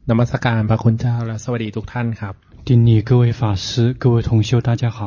นมัสการพระคุณเจ้าและสวัสดีทุกท่านครับ顶礼各位法師各位同修大家好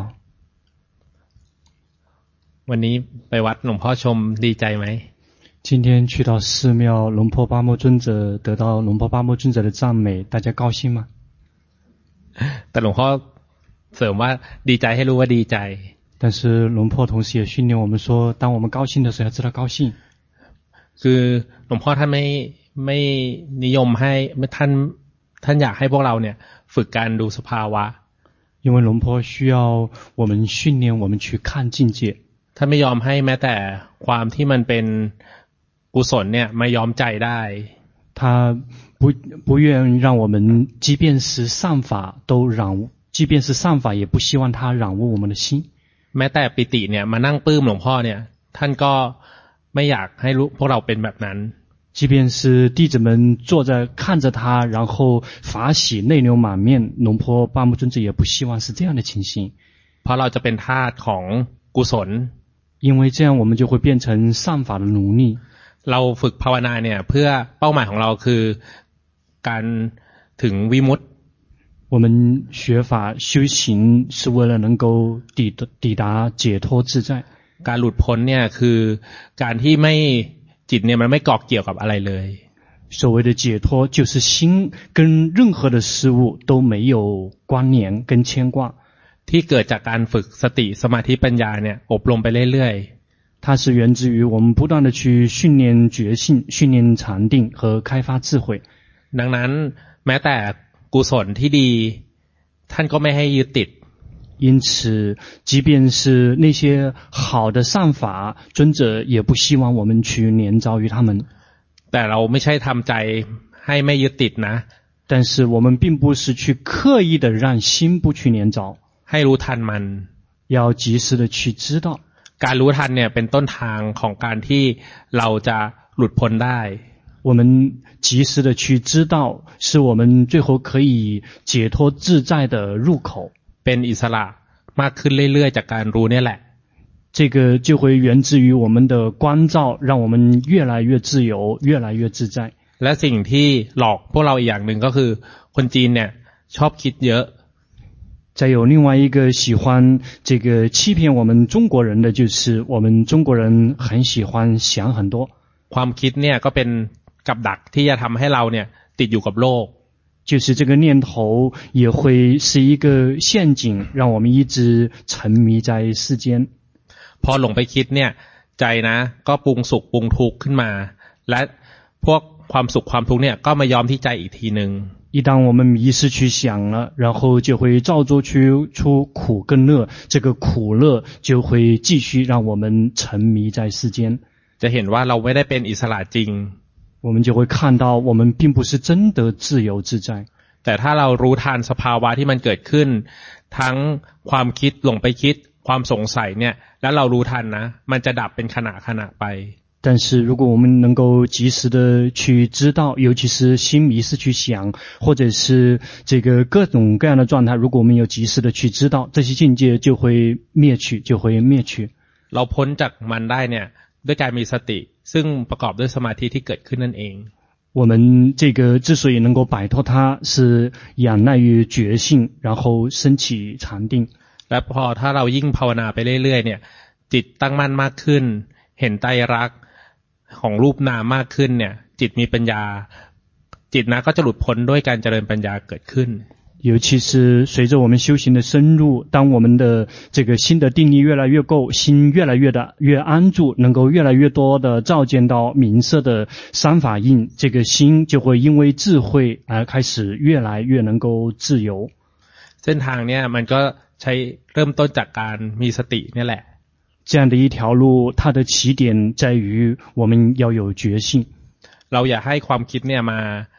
วันนี้ไปวัดหลวงพ่อชมดีใจไหม今天去到寺廟龍坡巴摩尊者得到龍坡巴摩尊者的讚美大家高興嗎แต่หลวงพ่อเสริมว่าดีใจให้รู้ว่าดีใจ但是龍坡同時也訓練我們說當我們高興的時候要知道高興คือหลวงพ่อท่านไม่นิยมให้ท่านอยากให้พวกเราเนี่ยฝึกการดูสภาวะ因為龍坡需要我們訓練我們去看境界ท่านไม่ยอมให้แม้แต่ความที่มันเป็นกุศลเนี่ยมายอมใจได้他不願讓我們即便是善法都即便是善法也不希望它染污我們的心แม้แต่ปิติเนี่ยมานั่งปลื้มหลวงพ่อเนี่ยท่านก็ไม่อยากให้พวกเราเป็นแบบนั้น即便是弟子們坐在看着他然後法喜淚流滿面龍坡巴摩尊者也不希望是這樣的情形เพราะเราจะเป็นทาสของกุศล因為這樣我們就會變成善法的奴隸เราฝึกภาวนาเนี่ยเพื่อเป้าหมายของเราคือการถึงวิมุตติ我們學法修行是為了能夠抵達解脫自在การหลุดพ้นเนี่ยคือการที่ไม่จิตเนี่ยมันไม่เกาะเกี่ยวกับอะไรเลย所謂的解脫就是心跟任何的事物都沒有關聯跟牽掛ที่เกิดจากการฝึกสติสมาธิปัญญาเนี่ยอบรมไปเรื่อยๆ它是源自於我們不斷的去訓練覺性訓練禪定和開發智慧ดังนั้นแม้แต่กุศลที่ดีท่านก็ไม่ให้ยึดติด因此即便是那些好的善法尊者也不希望我們去黏着於他們แต่เราไม่ใช่ทำใจให้ไม่ยึดติดนะ但是我們並不是去刻意的讓心不去黏着ให้รู้ทันมัน要及時的去知道การรู้ทันเนี่ยเป็นต้นทางของการที่เราจะหลุดพ้นได้我們及時的去知道是我們最後可以解脫自在的入口เป็นอิสระมากขึ้นเรื่อยๆจากการรู้เนี่ยแหละ這個就會源自於我們的關照讓我們越來越自由越來越自在และสิ่งที่หลอกพวกเราอีกอย่างหนึ่งก็คือคนจีนเนี่ยชอบคิดเยอะ再有另外一個喜歡這個欺騙我們中國人的就是我們中國人很喜歡想很多ความคิดเนี่ยก็เป็นกับดักที่จะทำให้เราเนี่ยติดอยู่กับโลก就是這個念頭也會是一個陷阱讓我們一直沉迷在世間พอหลงไปคิดเนี่ยใจนะก็ปรุงสุขปรุงทุกข์ขึ้นมาและพวกความสุขความทุกข์เนี่ยก็มายอมที่ใจอีกทีนึง一旦我們迷失去想了然後就會照做出苦跟樂這個苦樂就會繼續讓我們沉迷在世間จะเห็นว่าเราไม่ได้เป็นอิสระจริง我們就會看到我們並不是真的自由自在แต่ถ้าเรารู้ทันสภาวะที่มันเกิดขึ้นทั้งความคิดหลงไปคิดความสงสัยเนี่ยแล้วเรารู้ทันนะมันจะดับเป็นขณะไป但是如果我们能夠及時的去知道尤其是心迷失去想或者是這個各種各樣的狀態如果我們有及時的去知道這些境界就會滅去เราพ้นจากมันได้เนี่ยด้วยการมีสติซึ่งประกอบด้วยสมาธิที่เกิดขึ้นนั่นเอง我們這個之所以能夠擺脫它是仰賴於覺性然後升起禪定และพอถ้าเรายิ่งภาวนาไปเรื่อยๆเนี่ยจิตตั้งมั่นมากขึ้นเห็นไตรลักษณ์ของรูปนามมากขึ้นเนี่ยจิตมีปัญญาจิตนะก็จะหลุดพ้นด้วยการเจริญปัญญาเกิดขึ้น尤其是隨着我們修行的深入當我們的這個心的定力越來越夠心越來越安住能夠越來越多的照見到明色的三法印這個心就會因為智慧而開始越來越能夠自由เส้นทางเนี่ยมันก็ใช้เริ่มต้นจากการมีสตินี่แหละ這樣的一條路它的起點在於我們要有覺性เราอย่าให้ความคิดเนี่ยมา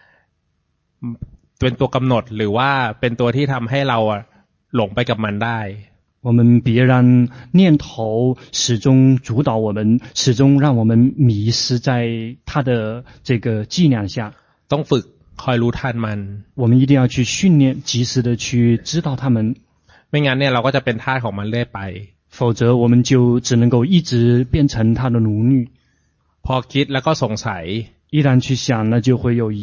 เป็นตัวกำหนดหรือว่าเป็นตัวที่ทำให้เราหลงไปกับมันได้我們別讓念頭始終主導我們始終讓我們迷失在它的這個伎倆下ต้องฝึกคอยรู้ทันมัน我們一定要去訓練及時的去知道它們ไม่งั้นเนี่ยเราก็จะเป็นทาสของมันเรื่อยไป否則我們就只能夠一直變成它的奴隸พอคิดแล้วก็สงสัย一旦去想了就會有疑問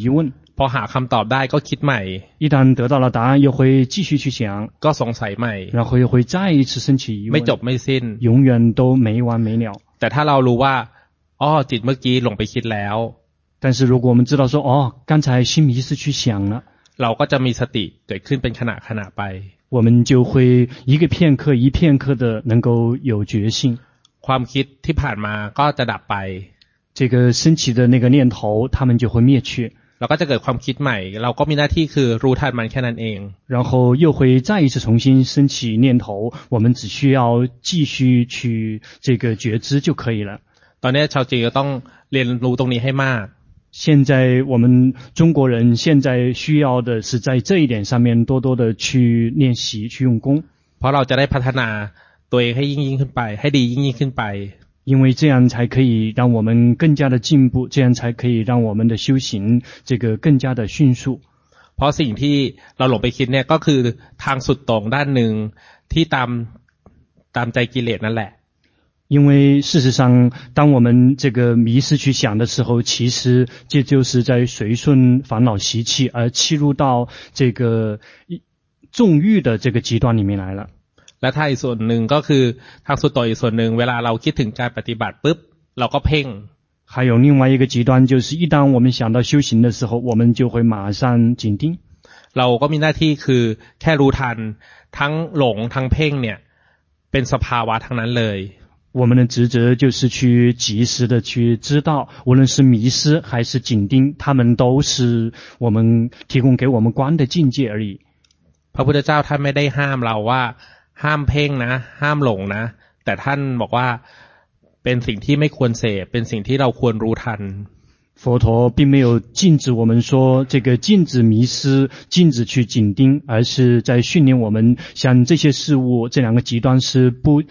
พอหาคำตอบได้ก็คิดใหม่一旦得到了答案，又会继续去想， ก็สงสัยใหม่然後又會再一次升起疑問， ไม่จบไม่สิ้น永遠都沒完沒了。 แต่ถ้าเรารู้ว่าอ๋อจิตเมื่อกี้หลงไปคิดแล้ว但是如果我們知道說哦，剛才心迷失去想了， เราก็จะมีสติเกิดขึ้นเป็นขณะไป我們就會一個片刻一片刻的能夠有覺性。 ความคิดที่ผ่านมาก็จะดับไป這個升起的那個念頭它們就會滅去， เราก็จะเกิดความคิดใหม่เราก็มีหน้าที่คือรู้ทันมันแค่นั้นเอง然後又會再一次重新升起念頭，我們只需要繼續去這個覺知就可以了。 ตอนนี้ชาวจีนก็ต้องเรียนรู้ตรงนี้ให้มาก現在我們中國人現在需要的是在這一點上面多多的去練習去用功， เพราะเราจะได้พัฒนาตัวเองให้ยิ่งขึ้นไปให้ดียิ่งขึ้นไป因為這樣才可以讓我們更加的進步，這樣才可以讓我們的修行這個更加的迅速。 เพราะสิ่งที่เราหลงไปคิดเนี่ยก็คือทางสุดโต่งด้านหนึ่งที่ตามใจกิเลสนั่นแหละ因為事實上當我們這個迷失去想的時候，其實這就是在隨順煩惱習氣而契入到這個縱欲的這個極端裡面來了。 และถ้าอีกส่วนหนึ่งก็คือทางสุดโต่งอีกส่วนหนึ่งเวลาเราคิดถึงการปฏิบัติปุ๊บเราก็เพ่ง還有另外一個極端就是一旦我們想到修行的時候，我們就會馬上緊盯。 เราก็มีหน้าที่คือแค่รู้ทันทั้งหลงทั้งเพ่งเนี่ยเป็นสภาวะทั้งนั้นเลย我們的職責就是去及時的去知道，無論是迷失還是緊盯，他們都是我們提供給我們觀的境界而已。 พระพุทธเจ้าท่านไม่ได้ห้ามเราว่าห้ามเพ่งนะห้ามหลงนะแต่ท่านบอกว่าเป็นสิ่งที่ไม่ควรเสพเป็นสิ่งที่เราควรรู้ทัน佛陀並沒有禁止我們說這個禁止迷失，禁止去緊盯，而是在訓練我們像這些事物，這兩個極端是不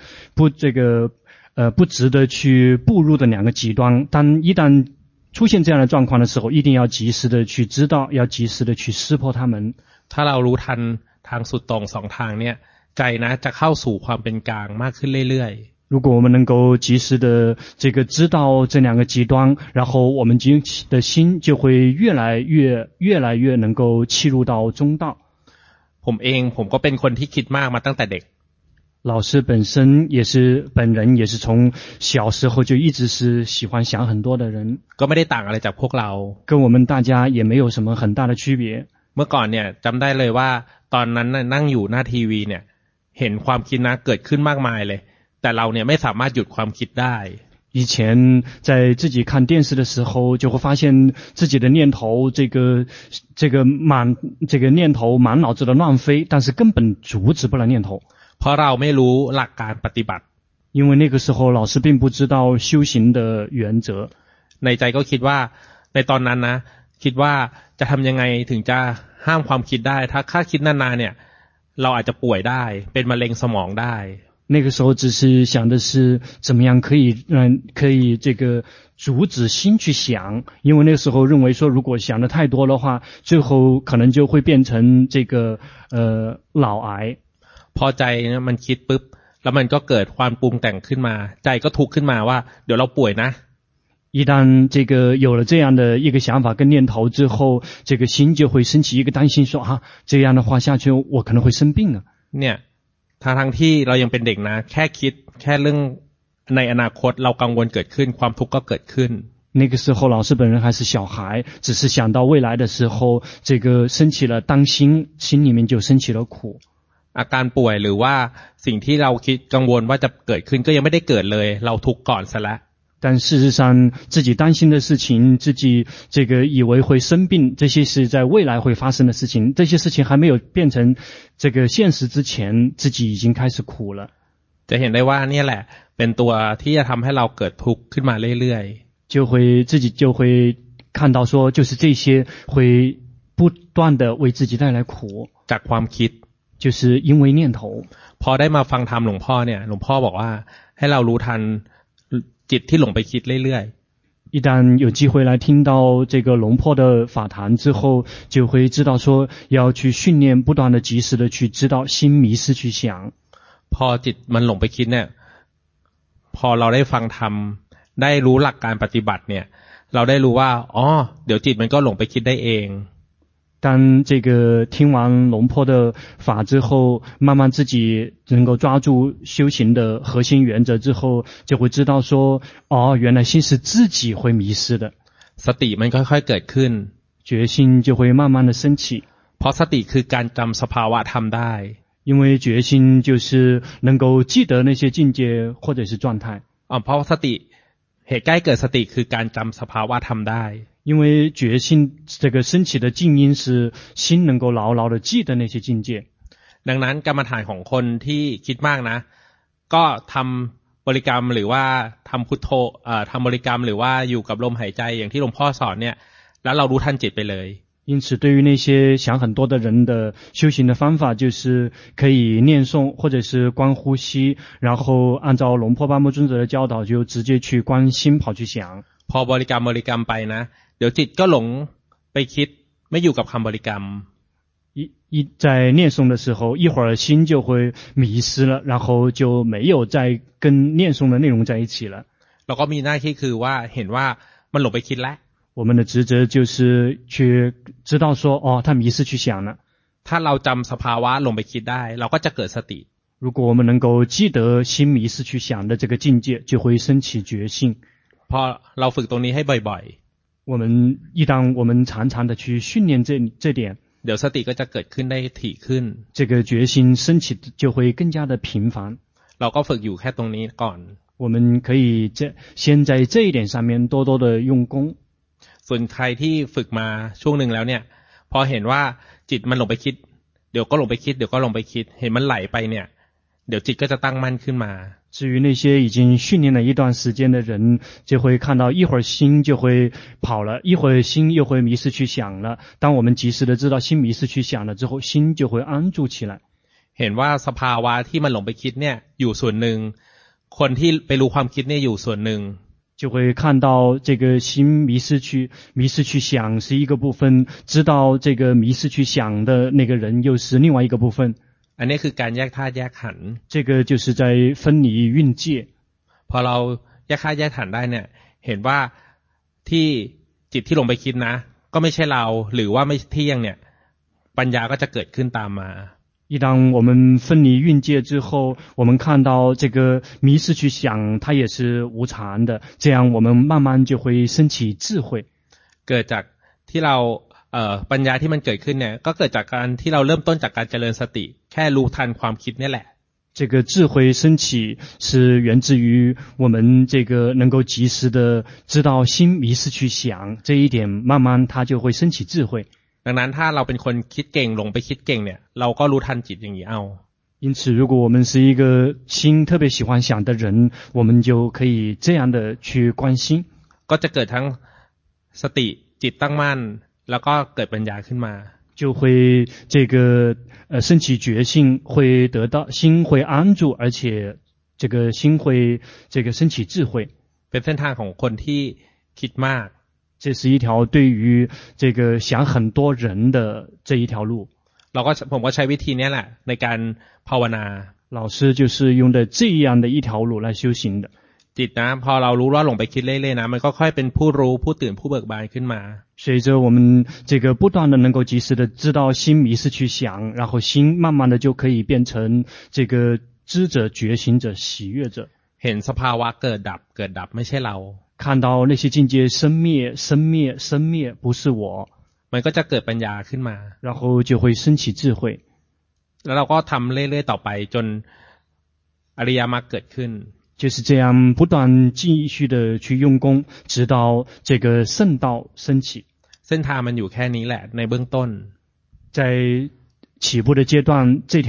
值得去步入的兩個極端。當一旦出現這樣的狀況的時候，一定要及時的去知道，要及時的去識破它們。 ถ้าเรารู้ทันทางสุดโต่งสองทางเนี่ยใจนะจะเข้าสู่ความเป็นกลางมากขึ้นเรื่อยๆ如果我們能夠及時的這個知道這兩個極端，然後我們的心就會越來越能夠契入到中道。 ผมก็เป็นคนที่คิดมากมาตั้งแต่เด็ก老師本人也是從小時候就一直是喜歡想很多的人， ก็ไม่ได้ต่างอะไรจากพวกเรา跟我們大家也沒有什麼很大的區別。 เมื่อก่อนเนี่ยจำได้เลยว่าตอนนั้นนั่งอยู่หน้าทีวีเนี่ยเห็นความคิดนะเกิดขึ้นมากมายเลยแต่เราเนี่ยไม่สามารถหยุดความคิดได้以前在自己看電視的時候，就會發現自己的念頭這個念頭滿腦子的亂飛，但是根本阻止不了念頭。 เพราะเราไม่รู้หลักการปฏิบัติ因為那個時候老師並不知道修行的原則。 ในใจก็คิดว่าในตอนนั้นนะคิดว่าจะทำยังไงถึงจะห้ามความคิดได้ถ้าคิดนานๆเนี่ยเราอาจจะป่วยได้เป็นมะเร็งสมองได้那個時候只是想的是怎麼樣可以這個阻止心去想，因為那個時候認為說如果想得太多的話，最後可能就會變成這個腦癌。 พอใจมันคิดปุ๊บแล้วมันก็เกิดความปรุงแต่งขึ้นมาใจก็ทุกข์ขึ้นมาว่าเดี๋ยวเราป่วยนะ一旦這個有了這樣的一個想法跟念頭之後，這個心就會升起一個擔心說啊，這樣的話下去我可能會生病啊。 เนี่ยทั้งที่เรายังเป็นเด็กนะแค่คิดแค่เรื่องในอนาคตเรากังวลเกิดขึ้นความทุกข์ก็เกิดขึ้น那個時候老師本人還是小孩，只是想到未來的時候，這個升起了擔心，心裡面就升起了苦。 อาการป่วยหรือว่าสิ่งที่เราคิดกังวลว่าจะเกิดขึ้นก็ยังไม่ได้เกิดเลยเราทุกข์ก่อนซะแล้ว但事實上自己擔心的事情，自己這個以為會生病，這些是在未來會發生的事情，這些事情還沒有變成這個現實之前，自己已經開始苦了。 จะเห็นได้ว่านี่แหละเป็นตัวที่จะทำให้เราเกิดทุกข์ขึ้นมาเรื่อยๆ自己就會看到說就是這些會不斷的為自己帶來苦จากความคิด就是因為念頭พอได้มาฟังธรรมหลวงพ่อเนี่ยหลวงพ่อบอกว่าให้เรารู้ทันจิตที่หลงไปคิดเรื่อยๆ一旦有機會來聽到這個龍坡的法談之後，就會知道說要去訓練不斷的及時的去知道心迷失去想。 พอจิตมันหลงไปคิดเนี่ยพอเราได้ฟังธรรมได้รู้หลักการปฏิบัติเนี่ยเราได้รู้ว่าอ๋อเดี๋ยวจิตมันก็หลงไปคิดได้เอง當這個聽完龍坡的法之後，慢慢自己能夠抓住修行的核心原則之後，就會知道說，哦，原來心是自己會迷失的。 สติมันค่อยๆเกิดขึ้น決心就會慢慢的升起。 เพราะสติคือการจำสภาวะธรรมได้因為決心就是能夠記得那些境界或者是狀態。 เพราะสติเหตุใกล้เกิดสติคือการจำสภาวะธรรมได้因為決心這個升起的靜因是心能夠牢牢的記得那些境界。 ดังนั้นกรรมฐานของคนที่คิดมากนะก็ทำบริกรรมหรือว่าทำพุทโธทำบริกรรมหรือว่าอยู่กับลมหายใจอย่างที่หลวงพ่อสอนเนี่ยแล้วเรารู้ทันจิตไปเลย因此對於那些想很多的人的修行的方法就是可以念誦或者是觀呼吸，然後按照龍坡巴木尊者的教導就直接去觀心跑去想。 พอบริกรรมไปนะเดี๋ยวจิตก็หลงไปคิดไม่อยู่กับคำบริกรรม在念誦的時候一會兒心就會迷失了，然後就沒有再跟念誦的內容在一起了。 เราก็มีหน้าที่คือว่าเห็นว่ามันหลงไปคิดแล้ว我們的職責就是去知道說，哦，他迷失去想了。 ถ้าเราจำสภาวะหลงไปคิดได้เราก็จะเกิดสติ如果我們能夠記得心迷失去想的這個境界，就會升起覺性。 พอเราฝึกตรงนี้ให้บ่อย一旦我們常常的去訓練這點， เดี๋ยวสติก็จะเกิดขึ้นได้ถี่ขึ้น這個覺心升起就會更加的頻繁。 เราก็ฝึกอยู่แค่ตรงนี้ก่อน我們可以先在這一點上面多多的用功。 ส่วนใครที่ฝึกมาช่วงหนึ่งแล้วเนี่ยพอเห็นว่าจิตมันหลงไปคิดเดี๋ยวก็หลงไปคิดเดี๋ยวก็หลงไปคิดเห็นมันไหลไปเนี่ยเดี๋ยวจิตก็จะตั้งมั่นขึ้นมา至於那些已經訓練了一段時間的人，就會看到一會兒心就會跑了，一會兒心又會迷失去想了。當我們及時的知道心迷失去想了之後，心就會安住起來。 เห็นว่าสภาวะที่มันหลงไปคิดเนี่ยอยู่ส่วนหนึ่งคนที่ไปรู้ความคิดเนี่ยอยู่ส่วนหนึ่ง就會看到這個心迷失去想是一個部分，知道這個迷失去想的那個人又是另外一個部分。 อันนี้คือการแยกธาตุแยกขันธ์這個就是在分離蘊界。 พอเราแยกธาตุแยกขันธ์ได้เนี่ยเห็นว่าที่จิตที่ลงไปคิดนะก็ไม่ใช่เราหรือว่าไม่เที่ยงเนี่ยปัญญาก็จะเกิดขึ้นตามมา一當我們分離蘊界之後，我們看到這個迷失去想它也是無常的，這樣我們慢慢就會升起智慧。 เกิดจากที่เราปัญญาที่มันเกิดขึ้นเนี่ยก็เกิดจากการที่เราเริ่มต้นจากการเจริญสติแค่รู้ทันความคิดนี่แหละ這個智慧升起是源自於我們這個能夠及時的知道心迷失去想這一點，慢慢它就會升起智慧。 ดังนั้นถ้าเราเป็นคนคิดเก่งหลงไปคิดเก่งเนี่ยเราก็รู้ทันจิตอย่างนี้เอา因此如果我們是一個心特別喜歡想的人，我們就可以這樣的去觀心， ก็จะเกิดทั้งสติจิตตั้งมั่นแล้วก็เกิดปัญญาขึ้นมา就會這個升起覺性，會得到心會安住，而且這個心會這個升起智慧。 เป็นเส้นทางของคนที่คิดมาก這是一條對於這個想很多人的這一條路。 ผมก็ใช้วิธีนี้แหละในการภาวนา老師就是用的這樣的一條路來修行的。 จิตนะพอเรารู้ว่าหลงไปคิดเรื่อยๆนะมันก็ค่อยเป็นผู้รู้ผู้ตื่นผู้เบิกบานขึ้นมา隨着我們這個不斷的能夠及時的知道心迷失去想，然後心慢慢的就可以變成這個知者覺醒者喜悅者。 เห็นสภาวะเกิดดับไม่ใช่เรา看到那些境界生滅不是我， มันก็จะเกิดปัญญาขึ้นมา然後就會升起智慧。 แล้วเราก็ทำเรื่อยๆต่อไปจนอริยมรรคเกิดขึ้น就是這樣不斷繼續的去用功，直到這個聖道升起。 เส้นทางมันอยู่แค่นี้แหละในเบื้องต้น在起步的階段，這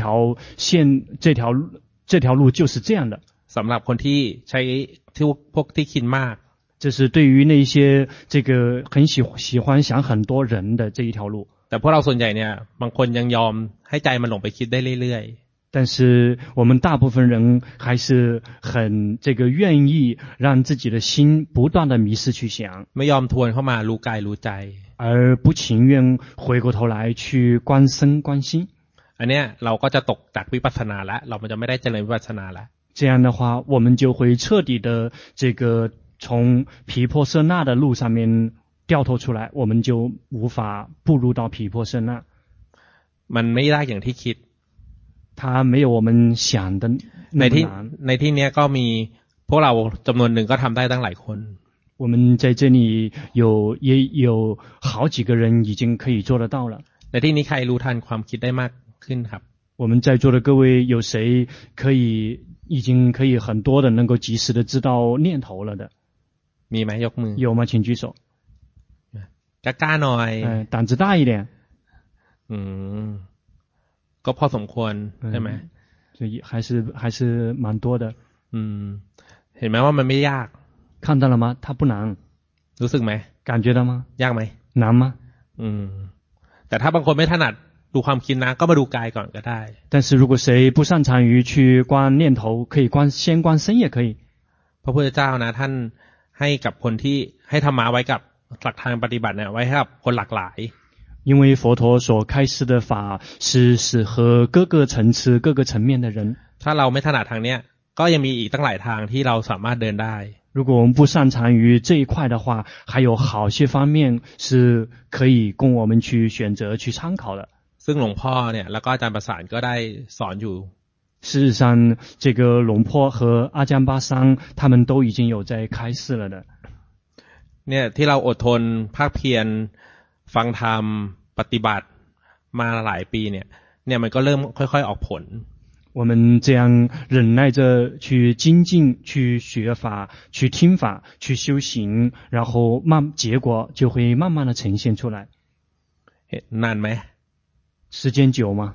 條路就是這樣的。 สำหรับคนที่ใช้พวกที่คิดมาก這是對於那些這個很喜歡想很多人的這一條路。 แต่พวกเราส่วนใหญ่เนี่ยบางคนยังยอมให้ใจมันหลงไปคิดได้เรื่อยๆ但是我們大部分人還是很這個願意讓自己的心不斷的迷失去想， ไม่ยอมทวนเข้ามารู้กายรู้ใจ而不情願回過頭來去觀身觀心。 อันเนี้ยเราก็จะตกจากวิปัสสนาแล้วเราจะไม่ได้เจริญวิปัสสนาแล้ว這樣的話我們就會徹底的這個從毗婆舍那的路上面掉头出来，我们就无法步入到毗婆舍那。 มันไม่ยากอย่างที่คิด它没有我们想的那么难。 ในที่นี้ก็มีพวกเราจำนวนหนึ่งก็ทำได้ตั้งหลายคน。 我们在這裡也有好幾個人已經可以做得到了。 ในที่นี้ใครรู้ทันความคิดได้มากขึ้นครับ？ 我們在座的各位有誰已經可以很多的能夠及時的知道念頭了的？ มีไหมยกมือ？ 有嗎？請舉手。 กล้าหน่อย膽子大一點。 ก็พอสมควรใช่ไหม？ 所以還是蠻多的。 เห็นไหมว่ามันไม่ยาก？ 看到了嗎？它不難。 รู้สึกไหม？ 感覺到嗎？ ยากไหม？ 難嗎？ แต่ถ้าบางคนไม่ถนัดดูความคิดนะก็มาดูกายก่อนก็ได้。 但是如果誰不擅長於去觀念頭，可以先觀身也可以。 พระพุทธเจ้านะท่านให้กับคนที่ให้ธรรมะไว้กับหลักทางปฏิบัติเนี่ยไว้ให้กับคนหลากหลาย。 因為佛陀所開示的法是適合各個層次各個層面的人。 ถ้าเราไม่ถนัดทางเนี้ยก็ยังมีอีกตั้งหลายทางที่เราสามารถเดินได้。 如果我們不擅長於這一塊的話，還有好些方面是可以供我們去選擇去參考的。 ซึ่งหลวงพ่อเนี่ยแล้วก็อาจารย์ประสานก็ได้สอนอยู่。 事實上，這個龍坡和阿江巴桑他們都已經有在開示了的。 เนี่ยที่เราอดทนภาคเพียรฟังธรรมปฏิบัติมาหลายปีเนี่ยมันก็เริ่มค่อยๆออกผล。 我們這樣忍耐着去精進、去學法、去聽法、去修行，然後結果就會慢慢的呈現出來。 นานไหม？ 時間久嗎？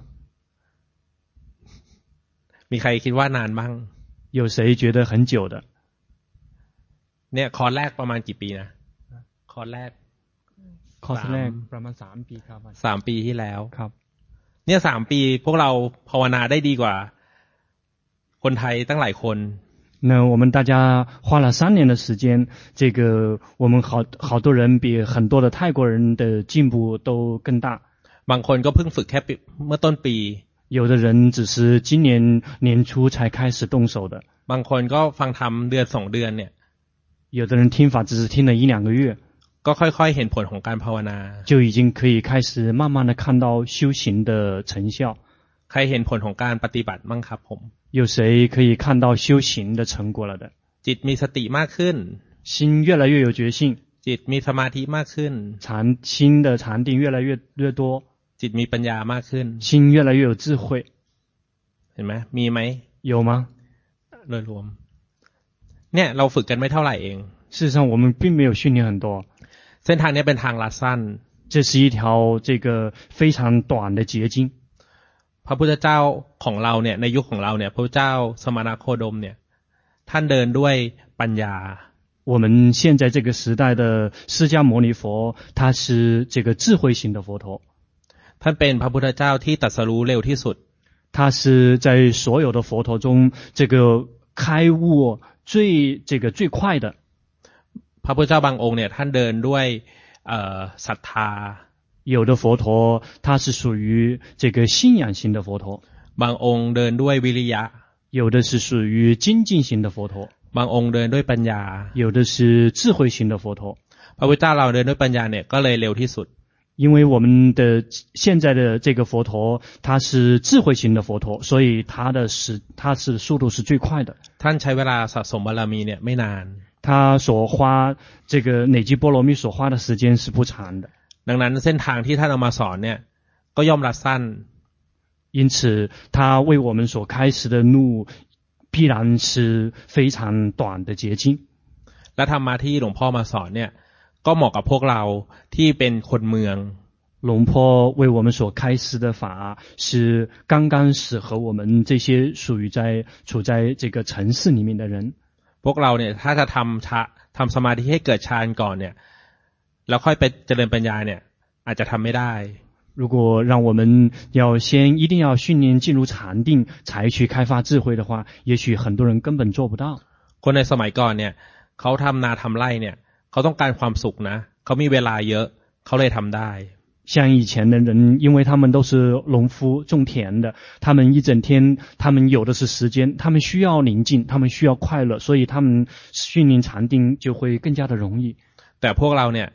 มีใครคิดว่านานบ้าง？ 有誰覺得很久的？ เนี่ยคอร์สแรกประมาณกี่ปีนะคอร์สแรกประมาณ3 ปีครับ 3 ปีที่แล้วครับเนี่ย3 ปีพวกเราภาวนาได้ดีกว่าคนไทยตั้งหลายคน那我們大家花了3年的時間，這個我們好多人比很多的泰國人的進步都更大。 บางคนก็เพิ่งฝึกแค่เมื่อต้นปี。 有的人只是今年年初才開始動手的。 บางคนก็ฟังธรรมเดือน2 เดือนเนี่ย有的人聽法只是聽了1-2個月。 ก็ค่อยๆเห็นผลของการภาวนา就已經可以開始慢慢的看到修行的成效。 ใครเห็นผลของการปฏิบัติบ้างครับผม有誰可以看到修行的成果了的？ จิตมีสติมากขึ้น心越來越有決心จิตมีสมาธิมากขึ้น心的禪定越來越多จิตมีปัญญามากขึ้น心越來越有智慧เห็นไหมมีไหม有嗎โดยรวมเนี่ยเราฝึกกันไม่เท่าไหร่เอง事實上我們並沒有訓練很多เส้นทางนี้เป็นทางลัดสั้น這是一條這個非常短的捷徑พระพุทธเจ้าของเราเนี่ยในยุคของเราเนี่ยพระพุทธเจ้าสมณโคดมเนี่ยท่านเดินด้วยปัญญา我們現在這個時代的釋迦牟尼佛他是這個智慧型的佛陀ท่านเป็นพระพุทธเจ้าที่ตรัสรู้เร็วที่สุด他是在所有的佛陀中這個開悟最快的พระพุทธเจ้าบางองค์เนี่ยท่านเดินด้วยศรัทธา有的佛陀他是屬於這個信仰型的佛陀บางองค์เดินด้วยวิริยะ有的是屬於精進型的佛陀บางองค์เดินด้วยปัญญา有的是智慧型的佛陀พระพุทธเจ้าเราเดินด้วยปัญญาเนี่ยก็เลยเร็วที่สุด因為我們的現在的這個佛陀他是智慧型的佛陀所以他是速度是最快的ท่านใช้เวลาสะสมบารมีเนี่ยไม่นาน他所花這個累積波羅蜜所花的時間是不長的ดังนั้นเส้นทางที่ท่านเอามาสอนเนี่ยก็ย่อมรัดสั้น因此他為我們所開始的路必然是非常短的捷徑และธรรมะที่หลวงพ่อมาสอนเนี่ยก็เหมาะกับพวกเราที่เป็นคนเมือง龍坡為我們所開示的法是剛剛適合我們這些處在這個城市裡面的人พวกเราเนี่ยถ้าจะทำสมาธิให้เกิดฌานก่อนเนี่ยแล้วค่อยไปเจริญปัญญาเนี่ยอาจจะทำไม่ได้如果讓我們一定要訓練進入禪定才去開發智慧的話也許很多人根本做不到คนในสมัยก่อนเนี่ยเขาทำนาทำไร่เนี่ยเขาต้องการความสุขนะเขามีเวลาเยอะเขาเลยทำได้像以前的人因為他們都是農夫種田的他們一整天他們有的是時間他們需要寧靜他們需要快樂所以他們訓練禪定就會更加的容易แต่พวกเราเนี่ย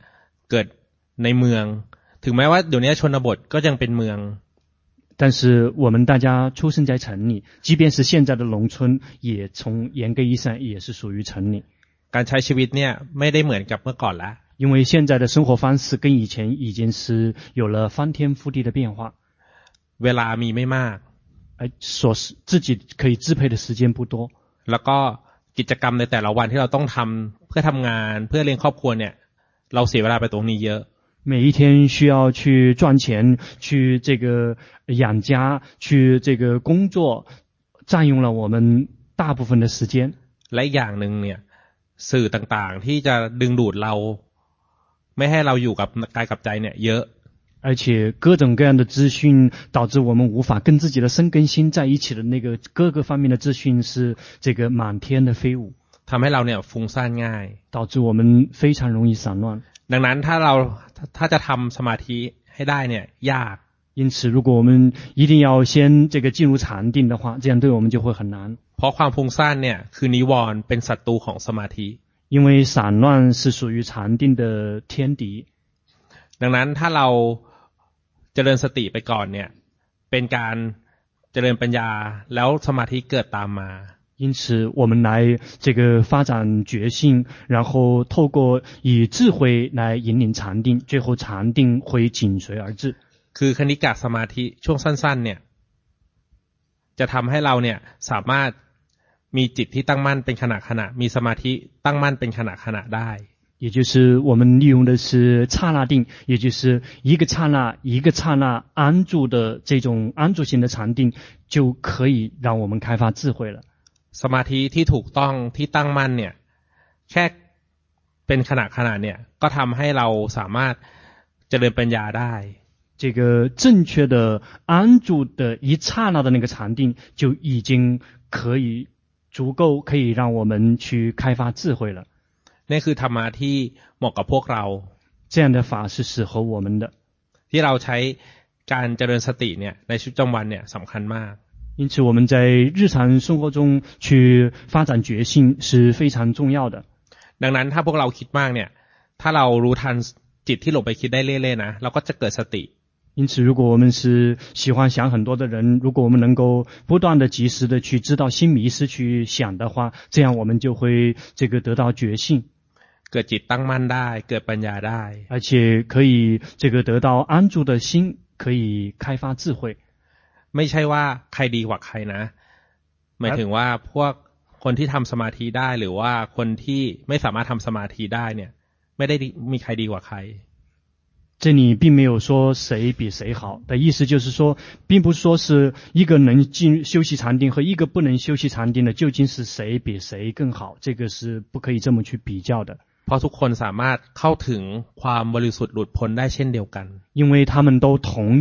เกิดในเมืองถึงแม้ว่าเดี๋ยวนี้ชนบทก็ยังเป็นเมือง但是我们大家出生在城里，即便是现在的农村，也从嚴格意義上也是屬於城里。 การใช้ชีวิตเนี่ยไม่ได้เหมือนกับเมื่อก่อนแล้ว因為現在的生活方式跟以前已經是有了翻天覆地的變化。 เวลามีไม่มาก自己可以支配的時間不多。 แล้วก็กิจกรรมในแต่ละวันที่เราต้องทำเพื่อทำงานเพื่อเลี้ยงครอบครัวเนี่ยเราเสียเวลาไปตรงนี้เยอะ每一天需要去賺錢，去這個養家，去這個工作，佔用了我們大部分的時間。 และอย่างหนึ่งเนี่ยสื่อต่างๆที่จะดึงดูดเราไม่ให้เราอยู่กับกายกับใจเนี่ยเยอะ而且各種各樣的資訊導致我們無法跟自己的身跟心在一起的那個各個方面的資訊是這個滿天的飛舞， ทำให้เราเนี่ยฟุ้งซ่านง่าย導致我們非常容易散亂。 ดังนั้นถ้าจะทำสมาธิให้ได้เนี่ยยาก因此如果我們一定要先這個進入禪定的話，這樣對我們就會很難。 เพราะความฟุ้งซ่านเนี่ยคือนิวรณ์เป็นศัตรูของสมาธิ因為散亂是屬於禪定的天敵。 ดังนั้นถ้าเราเจริญสติไปก่อนเนี่ยเป็นการเจริญปัญญาแล้วสมาธิเกิดตามมา因此我們來這個發展覺性，然後透過以智慧來引領禪定，最後禪定會緊隨而至。 คือคณิกะสมาธิช่วงสั้นๆเนี่ยจะทำให้เราเนี่ยสามารถมีจิตที่ตั้งมั่นเป็นขณะมีสมาธิตั้งมั่นเป็นขณะได้也就是我們利用的是剎那定，也就是一個剎那一個剎那安住的這種安住型的禪定，就可以讓我們開發智慧了。 สมาธิที่ถูกต้องที่ตั้งมั่นเนี่ยแค่เป็นขณะเนี่ยก็ทำให้เราสามารถเจริญปัญญาได้這個正確的安住的一剎那的那個禪定，就已經可以足夠可以讓我們去開發智慧了。 นี่คือธรรมะที่เหมาะกับพวกเรา這樣的法是適合我們的ที่เราใช้การเจริญสติเนี่ยในชีวิตประจำวันเนี่ยสำคัญมาก因此我們在日常生活中去發展覺性是非常重要的ดังนั้นถ้าพวกเราคิดมากเนี่ยถ้าเรารู้ทันจิตที่หลงไปคิดได้เรื่อยๆนะเราก็จะเกิดสติ因此如果我們是喜歡想很多的人，如果我們能夠不斷的及時的去知道心迷失去想的話，這樣我們就會這個得到覺性เกิดจิตตั้งมั่นได้เกิดปัญญาได้而且可以這個得到安住的心，可以開發智慧ไม่ใช่ว่าใครดีกว่าใครนะหมายถึงว่าพวกคนที่ทำสมาธิได้หรือว่าคนที่ไม่สามารถทำสมาธิได้เนี่ยไม่ได้มีใครดีกว่าใคร這裡並沒有說誰比誰好的意思，就是說並不是說是一個能修習禪定和一個不能修習禪定的究竟是誰比誰更好，這個是不可以這麼去比較的。 เพราะทุกคนสามารถเข้าถึงความบริสุทธิ์หลุดพ้นได้เช่นเดียวกัน因為他們都同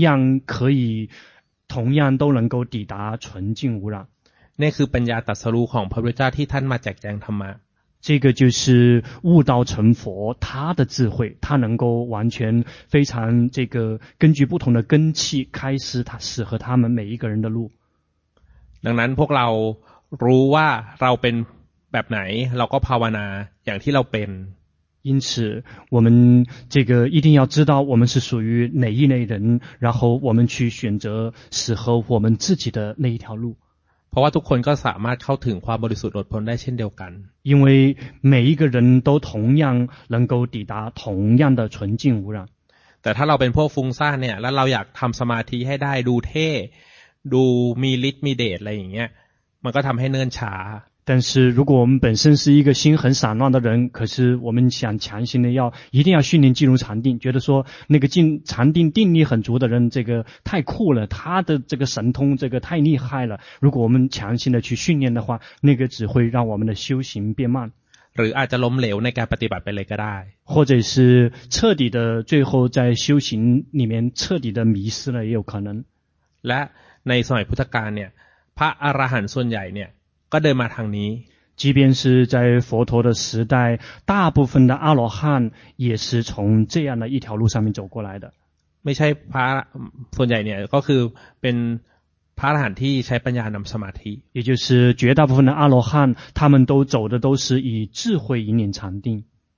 樣都能夠抵達純淨無染นี่คือปัญญาตรัสรู้ของพระพุทธเจ้าที่ท่านมาแจกแจงธรรมะ這個就是悟道成佛，他的智慧，他能夠完全非常這個根據不同的根器開示他適合他們每一個人的路。 ดังนั้นพวกเรารู้ว่าเราเป็นแบบไหนเราก็ภาวนาอย่างที่เราเป็น因此我們這個一定要知道我們是屬於哪一類人，然後我們去選擇適合我們自己的那一條路。 เพราะว่าทุกคนก็สามารถเข้าถึงความบริสุทธิ์หลุดพ้นได้เช่นเดียวกัน因為每一個人都同樣能夠抵達同樣的純淨無染แต่ถ้าเราเป็นพวกฟุ้งซ่านเนี่ยแล้วเราอยากทำสมาธิให้ได้ดูเท่ดูมีฤทธิ์มีเดชอะไรอย่างเงี้ยมันก็ทำให้เนิ่นช้า但是如果我們本身是一個心很散亂的人，可是我們想強行的一定要訓練進入禪定，覺得說那個進禪定定力很足的人，這個太酷了，他的這個神通這個太厲害了。如果我們強行的去訓練的話，那個只會讓我們的修行變慢。 หรืออาจจะล้มเหลวในการปฏิบัติไปเลยก็ได้或者是徹底的最後在修行裡面徹底的迷失了也有可能。 และในสมัยพุทธกาลเนี่ยพระอรหันต์ส่วนใหญ่เนี่ยก็เดินมาทางนี้即便是在佛陀的時代，大部分的阿羅漢也是從這樣的一條路上面走過來的。 ไม่ใช่พระส่วนใหญ่เนี่ยก็คือเป็นพระอรหันต์ที่ใช้ปัญญานำสมาธิ也就是絕大部分的阿羅漢他們都走的都是以智慧引領禪定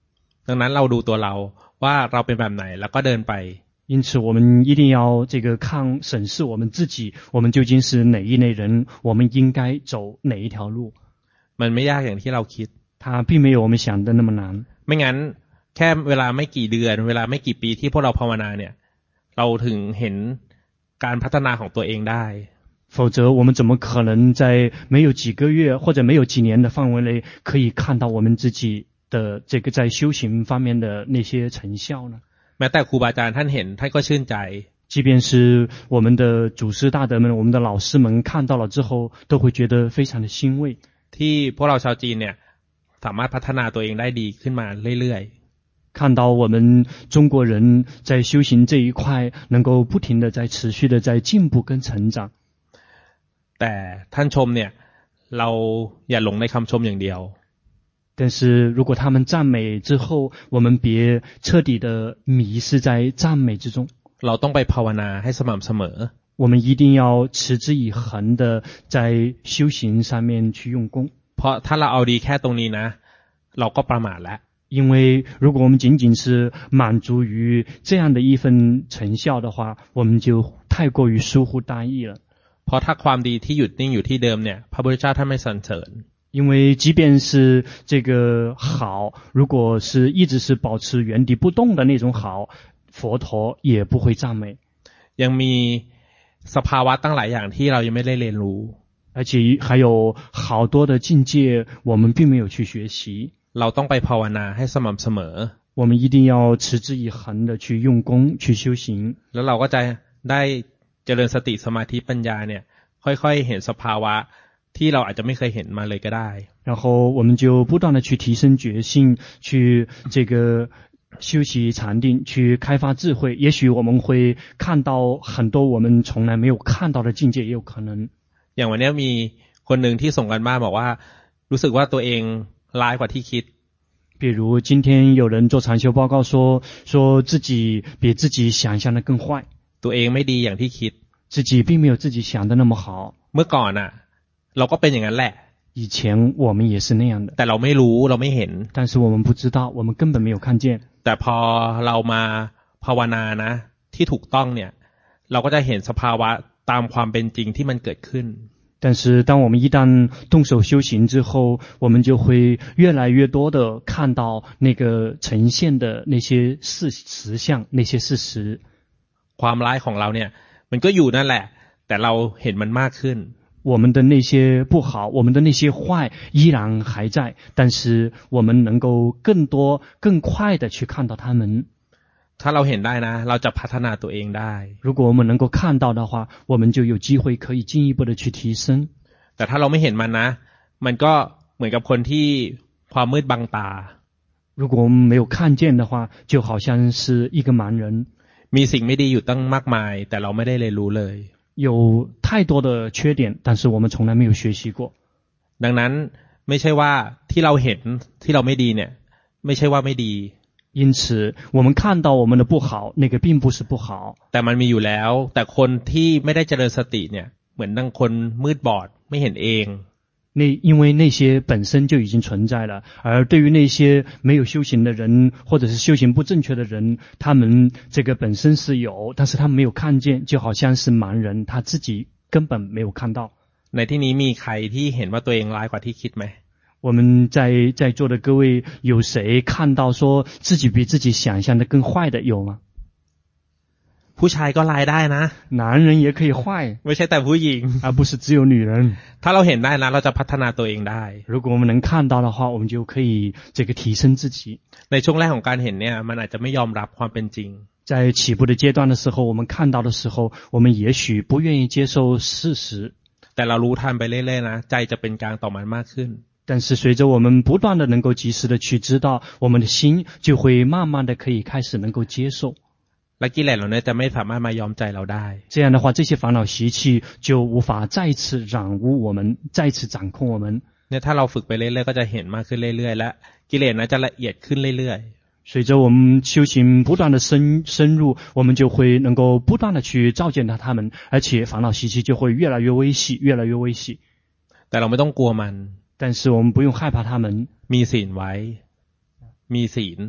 ดังนั้นเราดูตัวเราว่าเราเป็นแบบไหนแล้วก็เดินไป因此我们一定要审视我们自己，我们究竟是哪一类人，我们应该走哪一条路。 มันไม่ยากอย่างที่เราคิด它并没有我们想的那么难。 ไม่งั้นแค่เวลาไม่กี่เดือนเวลาไม่กี่ปีที่พวกเราภาวนาเนี่ยเราถึงเห็นการพัฒนาของตัวเองได้否则我们怎么可能在没有几个月或者没有几年的範圍內可以看到我們自己的在修行方面的那些成效呢？ แม้แต่ครูบาอาจารย์ท่านเห็นท่านก็ชื่นใจ即便是我們的祖師大德們我們的老師們看到了之後都會覺得非常的欣慰ที่พวกเราชาวจีนเนี่ยสามารถพัฒนาตัวเองได้ดีขึ้นมาเรื่อยๆ看到我們中國人在修行這一塊能夠不停的在持續的在進步跟成長แต่ท่านชมเนี่ยเราอย่าหลงในคำชมอย่างเดียว但是如果他們讚美之後我們別徹底的迷失在讚美之中เราต้องไปภาวนาให้สม่ำเสมอ我們一定要持之以恆的在修行上面去用功เพราะถ้าเราเอาดีแค่ตรงนี้นะเราก็ประมาทแล้ว因為如果我們僅僅是滿足於這樣的一份成效的話我們就太過於疏忽大意了เพราะถ้าความดีที่หยุดนิ่งอยู่ที่เดิมเนี่ยพระพุทธเจ้าท่านไม่สรรเสริญ因為即便是這個好如果是一直是保持原地不動的那種好佛陀也不會讚美ยังมีสภาวะตั้งหลายอย่างที่เรายังไม่ได้เรียนรู้而且還有好多的境界我們並沒有去學習เราต้องไปภาวนาให้สม่ำเสมอ我們一定要持之以恆的去用功去修行แล้วเราก็จะได้เจริญสติสมาธิปัญญาเนี่ยค่อยๆเห็นสภาวะที่เราอาจจะไม่เคยเห็นมาเลยก็ได้然後我們就不斷的去提升覺性去這個修習禪定去開發智慧也許我們會看到很多我們從來沒有看到的境界也有可能อย่างวันนี้มีคนหนึ่งที่ส่งกันบ้านบอกว่ารู้สึกว่าตัวเองร้ายกว่าที่คิด比如今天有人做禪修報告說自己比自己想象的更壞ตัวเองไม่ดีอย่างที่คิด自己並沒有自己想的那麼好เมื่อก่อนน่ะเราก็เป็นอย่างนั้นแหละ以前我們也是那樣的แต่เราไม่รู้เราไม่เห็น但是我們不知道我們根本沒有看見แต่พอเรามาภาวนานะที่ถูกต้องเนี่ยเราก็จะเห็นสภาวะตามความเป็นจริงที่มันเกิดขึ้น但是當我們一旦動手修行之後我們就會越來越多的看到那個呈現的那些實相那些事實ความร้ายของเราเนี่ยมันก็อยู่นั่นแหละแต่เราเห็นมันมากขึ้น我們的那些不好我們的那些壞依然還在但是我們能夠更多更快的去看到它們ถ้าเราเห็นได้นะเราจะพัฒนาตัวเองได้如果我們能夠看到的話我們就有機會可以進一步的去提升แต่ถ้าเราไม่เห็นมันนะมันก็เหมือนกับคนที่ความมืดบังตา如果我們沒有看見的話就好像是一個盲人มีสิ่งไม่ดีอยู่ตั้งมากมายแต่เราไม่ได้เรียนรู้เลย有太多的缺點但是我們從來沒有學習過ดังนั้นไม่ใช่ว่าที่เราเห็นที่เราไม่ดีเนี่ยไม่ใช่ว่าไม่ดี因此我們看到我們的不好那個並不是不好แต่มันมีอยู่แล้วแต่คนที่ไม่ได้เจริญสติเนี่ยเหมือนดังคนมืดบอดไม่เห็นเอง因為那些本身就已經存在了而對於那些沒有修行的人或者是修行不正確的人他們這個本身是有但是他們沒有看見就好像是盲人他自己根本沒有看到ในที่นี้มีใครที่เห็นว่าตัวเองร้ายกว่าที่คิดไหม我們在座的各位有誰看到說自己比自己想象的更壞的有嗎ผู้ชายก็ร้ายได้นะ男人也可以壞ไม่ใช่แต่ผู้หญิง而不是只有女人ถ้าเราเห็นได้นะเราจะพัฒนาตัวเองได้如果我們能看到的話我們就可以這個提升自己ในช่วงแรกของการเห็นเนี่ยมันอาจจะไม่ยอมรับความเป็นจริง在起步的階段的時候我們看到的時候我們也許不願意接受事實แต่เรารู้ทันไปเรื่อยๆนะใจจะเป็นกลางต่อมันมากขึ้น但是隨着我們不斷的能夠及時的去知道我們的心就會慢慢的可以開始能夠接受และกิเลสเหล่านี้จะไม่สามารถมายอมใจเราได้這樣的話這些煩惱習氣就無法再次染污我們再次掌控我們เนี่ยถ้าเราฝึกไปเรื่อยๆก็จะเห็นมากขึ้นเรื่อยๆและกิเลสนั้นจะละเอียดขึ้นเรื่อยๆ隨着我們修行不斷的深入我們就會能夠不斷的去照見到他們而且煩惱習氣就會越來越微細越來越微細แต่เราไม่ต้องกลัวมัน但是我們不用害怕他們มีศีลไว้มีศีล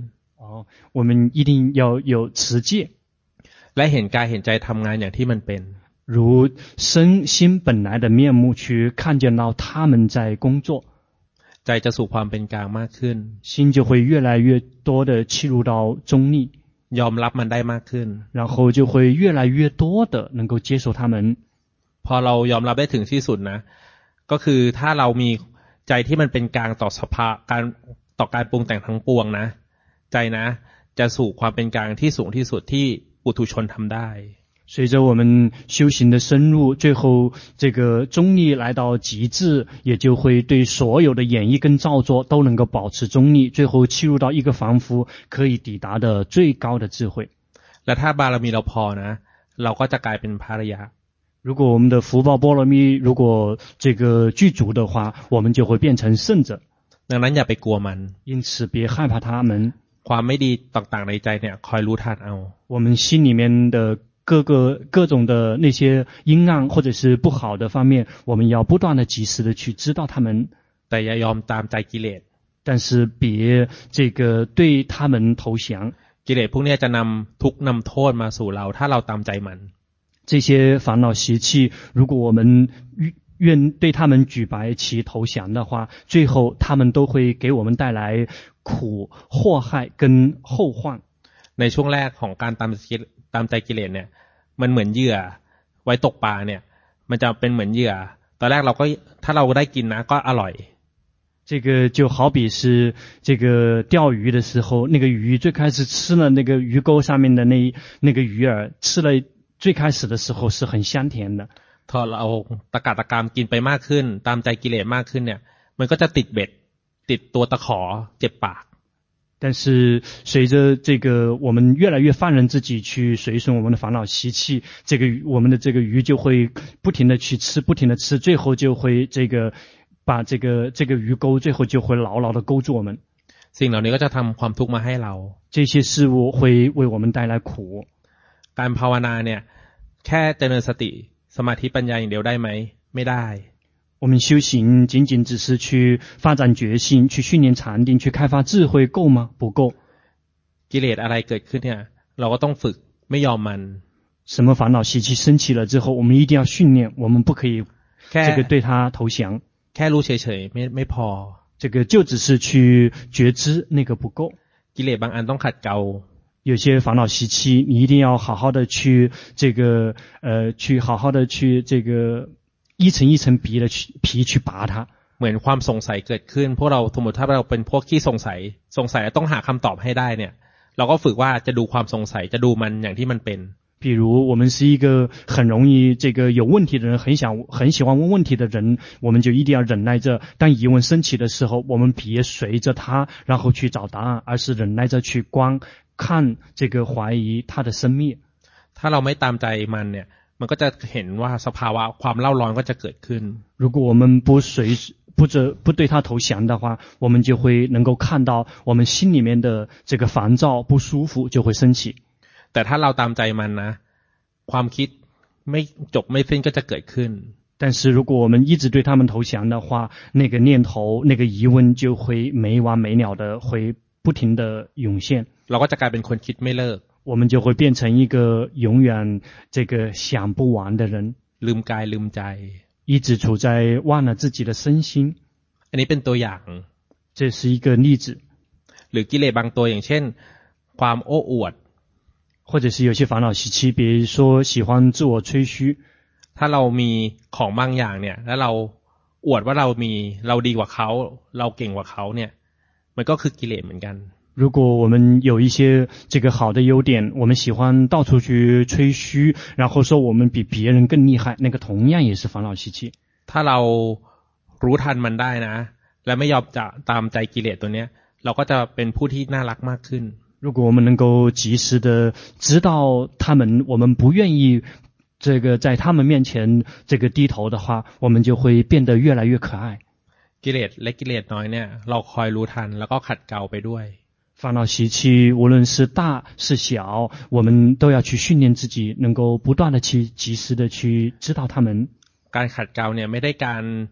我們一定要有持戒， และเห็นกายเห็นใจทำงานอย่างที่มันเป็น如身心本來的面目去看見到他們在工作， ใจจะสู่ความเป็นกลางมากขึ้น心就會越來越多的切入到中立， ยอมรับมันได้มากขึ้น然後就會越來越多的能夠接受他們。 พอเรายอมรับได้ถึงที่สุดนะก็คือถ้าเรามีใจที่มันเป็นกลางต่อสภาการต่อการปรุงแต่งทั้งปวงนะใจนะจะสู่ความเป็นกลางที่สูงที่สุดที่ปุถุชนทำได้隨着我們修行的深入，最後這個中立來到極致，也就會對所有的演繹跟造作都能夠保持中立，最後切入到一個凡夫可以抵達的最高的智慧。 และถ้าบารมีเราพอนะเราก็จะกลายเป็นพระอริยะ如果我們的福報波羅蜜如果這個具足的話，我們就會變成聖者。 ดังนั้นอย่าไปกลัวมัน因此別害怕他們。 ความไม่ดีต่างๆในใจเนี่ยคอยรู้ทันเอา我們心裡面的各種的那些陰暗或者是不好的方面，我們要不斷的及時的去知道他們。 แต่อย่ายอมตามใจกิเลส但是別這個對他們投降。 กิเลสพวกนี้จะนำทุกข์นำโทษมาสู่เราถ้าเราตามใจมัน這些煩惱習氣，如果我們願對他們舉白旗投降的話，最後他們都會給我們帶來苦、禍害跟後患。 ในช่วงแรกของการตามใจกิเลสเนี่ยมันเหมือนเหยื่อไว้ตกปลาเนี่ยมันจะเป็นเหมือนเหยื่อตอนแรกเราก็ถ้าเราได้กินนะก็อร่อย這個就好比是這個釣魚的時候，那個魚最開始吃了那個魚鈎上面的那個魚餌，吃了最開始的時候是很香甜的。 พอเราตะกาตะกามกินไปมากขึ้นตามใจกิเลสมากขึ้นเนี่ยมันก็จะติดเบ็ดติดตัวตะขอเจ็บปาก但是隨着這個我們越來越放任自己去隨順我們的煩惱習氣，這個我們的這個魚就會不停的去吃，不停的吃，最後就會這個把這個魚鈎最後就會牢牢的勾住我們。 สิ่งเหล่านี้ก็จะทำความทุกข์มาให้เรา這些事物會為我們帶來苦。 การภาวนาเนี่ยแค่เจริญสติสมาธิปัญญาอย่างเดียวได้ไหมไม่ได้我們修行僅僅只是去發展覺性，去訓練禪定，去開發智慧夠嗎？不夠。 กิเลสอะไรเกิดขึ้นเนี่ยเราก็ต้องฝึกไม่ยอมมัน什麼煩惱習氣升起了之後，我們一定要訓練，我們不可以這個對它投降。 แค่รู้เฉยๆไม่พอ這個就只是去覺知，那個不夠。 กิเลสบางอันต้องขัดเกลา有些煩惱習氣，你一定要好好的去這個去好好的去這個一層一層皮去拔它。 เหมือนความสงสัยเกิดขึ้นพวกเราสมมติถ้าเราเป็นพวกที่สงสัยต้องหาคำตอบให้ได้เนี่ยเราก็ฝึกว่าจะดูความสงสัยจะดูมันอย่างที่มันเป็น比如我們是一個很容易這個有問題的人，很喜歡問問題的人，我們就一定要忍耐着，當疑問升起的時候，我們別隨着它然後去找答案，而是忍耐着去觀看這個懷疑它的生滅。 ถ้าเราไม่ตามใจมันเนี่ยมันก็จะเห็นว่าสภาวะความเล่าร้อนก็จะเกิดขึ้น如果我們不對它投降的話，我們就會能夠看到我們心裡面的這個煩躁不舒服就會升起。 แต่ถ้าเราตามใจมันนะความคิดไม่จบไม่สิ้นก็จะเกิดขึ้น但是如果我們一直對他們投降的話，那個念頭那個疑問就會沒完沒了的會不停的湧現， เราก็จะกลายเป็นคนคิดไม่เลิก我們就會變成一個永遠這個想不完的人， ลืมกายลืมใจ一直處在忘了自己的身心。 อันนี้เป็นตัวอย่าง這是一個例子。 หรือกิเลสบางตัวอย่างเช่นความโอ้อวด或者是有些煩惱習氣，比如說喜歡自我吹噓。 ถ้าเรามีของบางอย่างเนี่ยแล้วเราอวดว่าเราดีกว่าเขาเราเก่งกว่าเขาเนี่ยมันก็คือกิเลสเหมือนกัน如果我們有一些這個好的優點，我們喜歡到處去吹噓，然後說我們比別人更厲害，那個同樣也是煩惱習氣。 ถ้าเรารู้ทันมันได้นะและไม่ยอมจะตามใจกิเลสตัวเนี้ยเราก็จะเป็นผู้ที่น่ารักมากขึ้น如果我們能夠及時的知道他們，我們不願意這個在他們面前這個低頭的話，我們就會變得越來越可愛。 กิเลสเล็กกิเลสน้อยเนี่ยเราคอยรู้ทันแล้วก็ขัดเกลาไปด้วย煩惱習氣無論是大是小，我們都要去訓練自己，能夠不斷的去及時的去知道他們。 การขัดเกลาเนี่ยไม่ได้การโ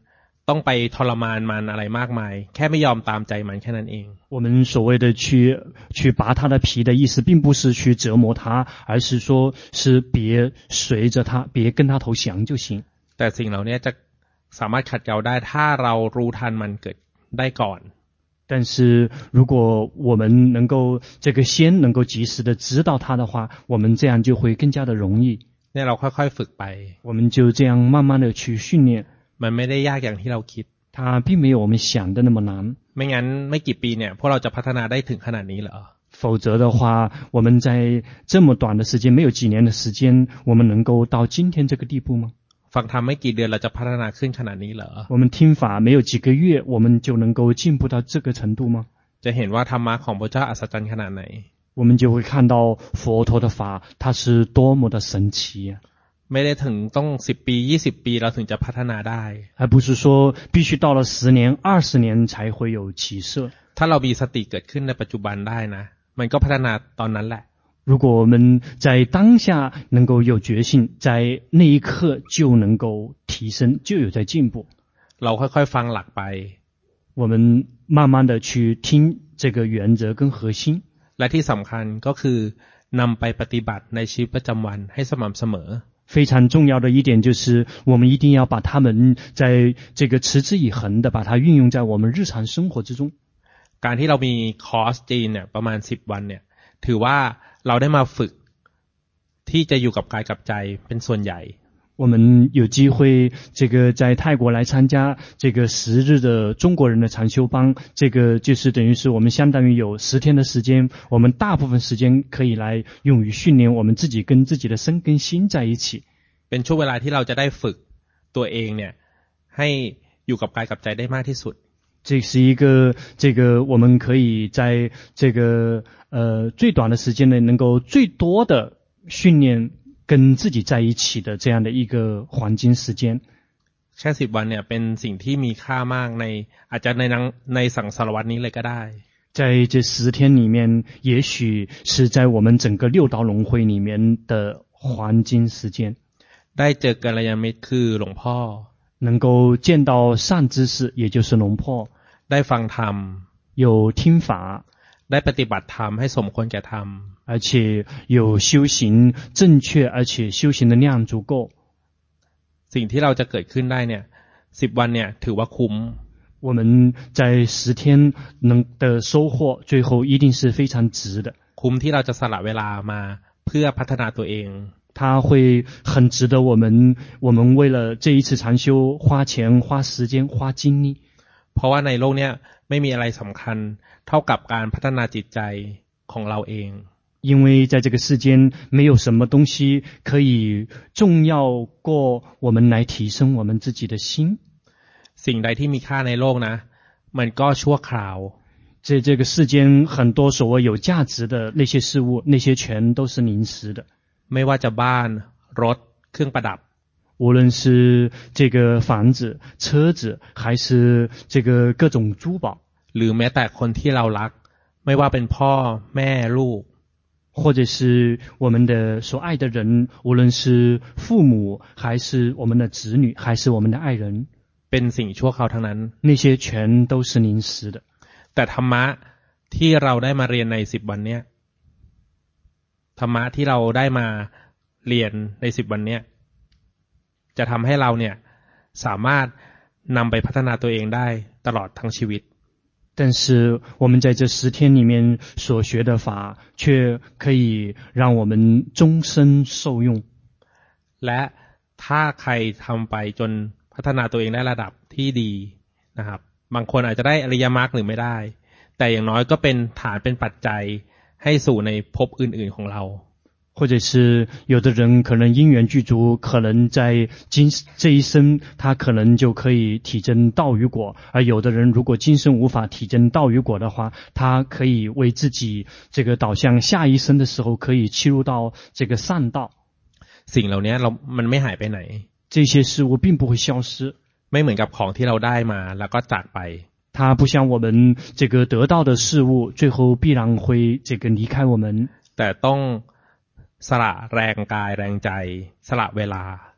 ต้องไปทรมานมันอะไรมากมายแค่ไม่ยอมตามใจมันแค่นั้นเอง我们所謂的去拔他的皮的意思并不是去折磨他，而是说是別隨着他，別跟他投降就行。 แต่สิ่งเหล่านี้จะสามารถขัดเกลาได้ถ้าเรารู้ทันมันเกิดได้ก่อน但是如果我們能夠這個先能夠及時的知道它的話，我們這樣就會更加的容易。 เนี่ยเราค่อยๆฝึกไป我們就這樣慢慢的去訓練。 มันไม่ได้ยากอย่างที่เราคิด它並沒有我們想的那麼難。 ไม่งั้นไม่กี่ปีเนี่ยพวกเราจะพัฒนาได้ถึงขนาดนี้เหรอ否則的話，我們在這麼短的時間，沒有幾年的時間，我們能夠到今天這個地步嗎？ ฟังธรรมไม่กี่เดือนเราจะพัฒนาขึ้นขนาดนี้เหรอ我們聽法沒有幾個月，我們就能夠進步到這個程度嗎？ จะเห็นว่าธรรมะของพระเจ้าอัศจรรย์ขนาดไหน我們就會看到佛陀的法，它是多麼的神奇啊！ ไม่ได้ถึงต้อง10ปี20ปีเราถึงจะพัฒนาได้而不是說必須到了10年20年才會有起色。 ถ้าเรามีสติเกิดขึ้นในปัจจุบันได้นะมันก็พัฒนาตอนนั้นแหละ如果我們在當下能夠有覺性，在那一刻就能夠提升，就有在進步。 เราค่อยๆฟังหลักไป我們慢慢的去聽這個原則跟核心。 และที่สำคัญก็คือนำไปปฏิบัติในชีวิตประจำวันให้สม่ำเสมอ非常重要的一點就是我們一定要把它們在這個持之以恆的把它運用在我們日常生活之中。 การที่เรามีคอร์สจีนเนี่ยประมาณ10วันเนี่ยถือว่าเราได้มาฝึกที่จะอยู่กับกายกับใจเป็นส่วนใหญ่我們有機會這個在泰國來參加這個10日的中國人的禪修班，這個就是等於是我們相當於有10天的時間，我們大部分時間可以來用於訓練我們自己跟自己的身跟心在一起。 เป็นช่วงเวลาที่เราจะได้ฝึกตัวเองเนี่ยให้อยู่กับกายกับใจได้มากที่สุด這是一個我們可以在這個最短的時間內能夠最多的訓練跟自己在一起的這樣的一個黃金時間。 แค่10วันเนี่ยเป็นสิ่งที่มีค่ามากในอาจจะในสังสารวัฏนี้เลยก็ได้在這10天裡面，也許是在我們整個六道輪迴裡面的黃金時間。 ได้เจอกัลยาณมิตรคือหลวงพ่อ能夠見到善知識，也就是龍婆， ได้ฟังธรรม有聽法， ได้ปฏิบัติธรรมให้สมควรแก่ธรรม而且有修行正確，而且修行的量足夠。 สิ่งที่เราจะเกิดขึ้นได้เนี่ย10วันเนี่ยถือว่าคุ้ม我們在10天能的收穫，最後一定是非常值的。 คุ้มที่เราจะสละเวลามาเพื่อพัฒนาตัวเอง它會很值得我們為了這一次禪修花錢花時間花精力。 เพราะว่าในโลกเนี้ยไม่มีอะไรสำคัญเท่ากับการพัฒนาจิตใจของเราเอง因為在這個世間沒有什麼東西可以重要過我們來提升我們自己的心。 สิ่งใดที่มีค่าในโลกนะมันก็ชั่วคราว在這個世間很多所謂有價值的那些事物，那些全都是臨時的。 ไม่ว่าจะบ้านรถเครื่องประดับ無論是這個房子車子還是這個各種珠寶หรือแม้แต่คนที่เรารักไม่ว่าเป็นพ่อแม่ลูก或者是我們的所愛的人，無論是父母還是我們的子女還是我們的愛人， เป็นสิ่งชั่วคราวทั้งนั้น那些全都是臨時的。 แต่ธรรมะที่เราได้มาเรียนใน10วันเนี้ยธรรมะที่เราได้มาเรียนใน10วันเนี้ยจะทำให้เราเนี่ยสามารถนำไปพัฒนาตัวเองได้ตลอดทั้งชีวิต但是我們在這10天裡面所學的法卻可以讓我們終身受用และถ้าใครทำไปจนพัฒนาตัวเองได้ระดับที่ดีนะครับบางคนอาจจะได้อริยมรรคหรือไม่ได้แต่อย่างน้อยก็เป็นฐานเป็นปัจจัยให้สู่ในภพอื่นๆของเรา或者是有的人可能因緣具足，可能在這一生他可能就可以體證道與果，而有的人如果今生無法體證道與果的話，他可以為自己這個導向下一生的時候可以切入到這個善道。 สิ่งเหล่านี้มันไม่หายไปไหน這些事物並不會消失ไม่เหมือนกับของที่เราได้มาแล้วก็จากไป它不像我們這個得到的事物最後必然會這個離開我們แต่ต้องสละแรงกายแรงใจสละเวลา